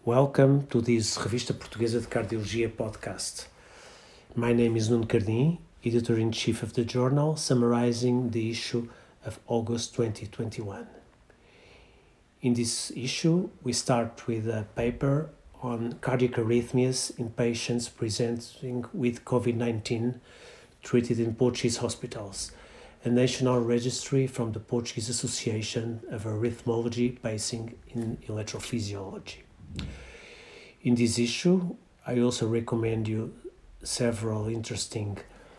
Welcome to this Revista Portuguesa de Cardiologia podcast. My name is Nuno Cardim, Editor-in-Chief of the journal, summarizing the issue of August 2021. In this issue, we start with a paper on cardiac arrhythmias in patients presenting with COVID-19 treated in Portuguese hospitals, a national registry from the Portuguese Association of Arrhythmology based in electrophysiology. In this issue, I also recommend you several interesting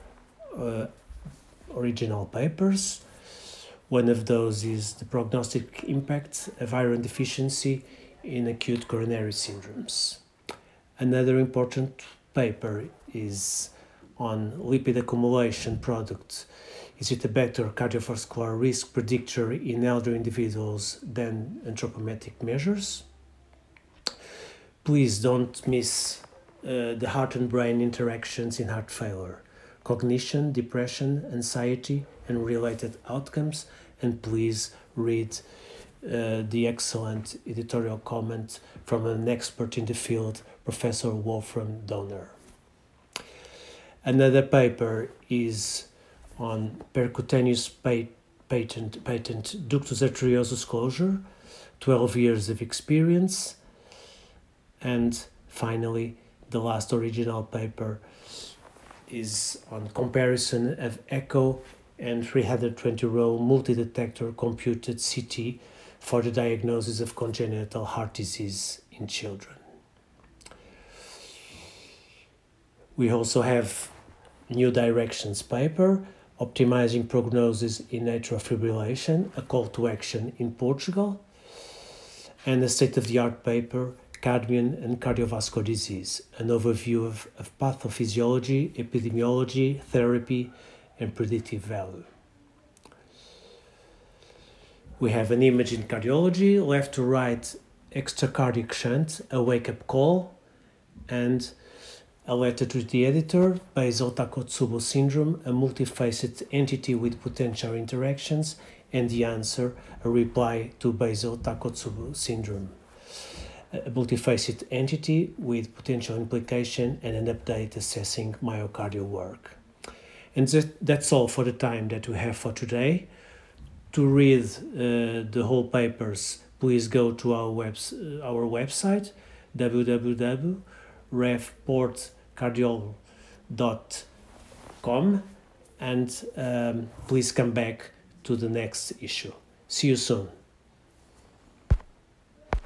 original papers. One of those is the prognostic impact of iron deficiency in acute coronary syndromes. Another important paper is on lipid accumulation product. Is it a better cardiovascular risk predictor in elder individuals than anthropometric measures? Please don't miss the heart and brain interactions in heart failure, cognition, depression, anxiety, and related outcomes. And please read the excellent editorial comment from an expert in the field, Professor Wolfram Donner. Another paper is on percutaneous patent ductus arteriosus closure, 12 years of experience. And finally, the last original paper is on comparison of echo and 320-row multi-detector computed CT for the diagnosis of congenital heart disease in children. We also have New Directions paper, Optimizing Prognosis in Atrial Fibrillation, a call to action in Portugal, and a state-of-the-art paper, Cadmium and Cardiovascular Disease, an overview of pathophysiology, epidemiology, therapy, and predictive value. We have an image in cardiology, left to right, extracardiac shunt, a wake-up call, and a letter to the editor, Basel-Takotsubo syndrome, a multifaceted entity with potential interactions, and the answer, a reply to Basel-Takotsubo syndrome, a multifaceted entity with potential implication, and an update assessing myocardial work. And that's all for the time that we have for today. To read the whole papers, please go to our website, www.revportcardiol.com, and please come back to the next issue. See you soon.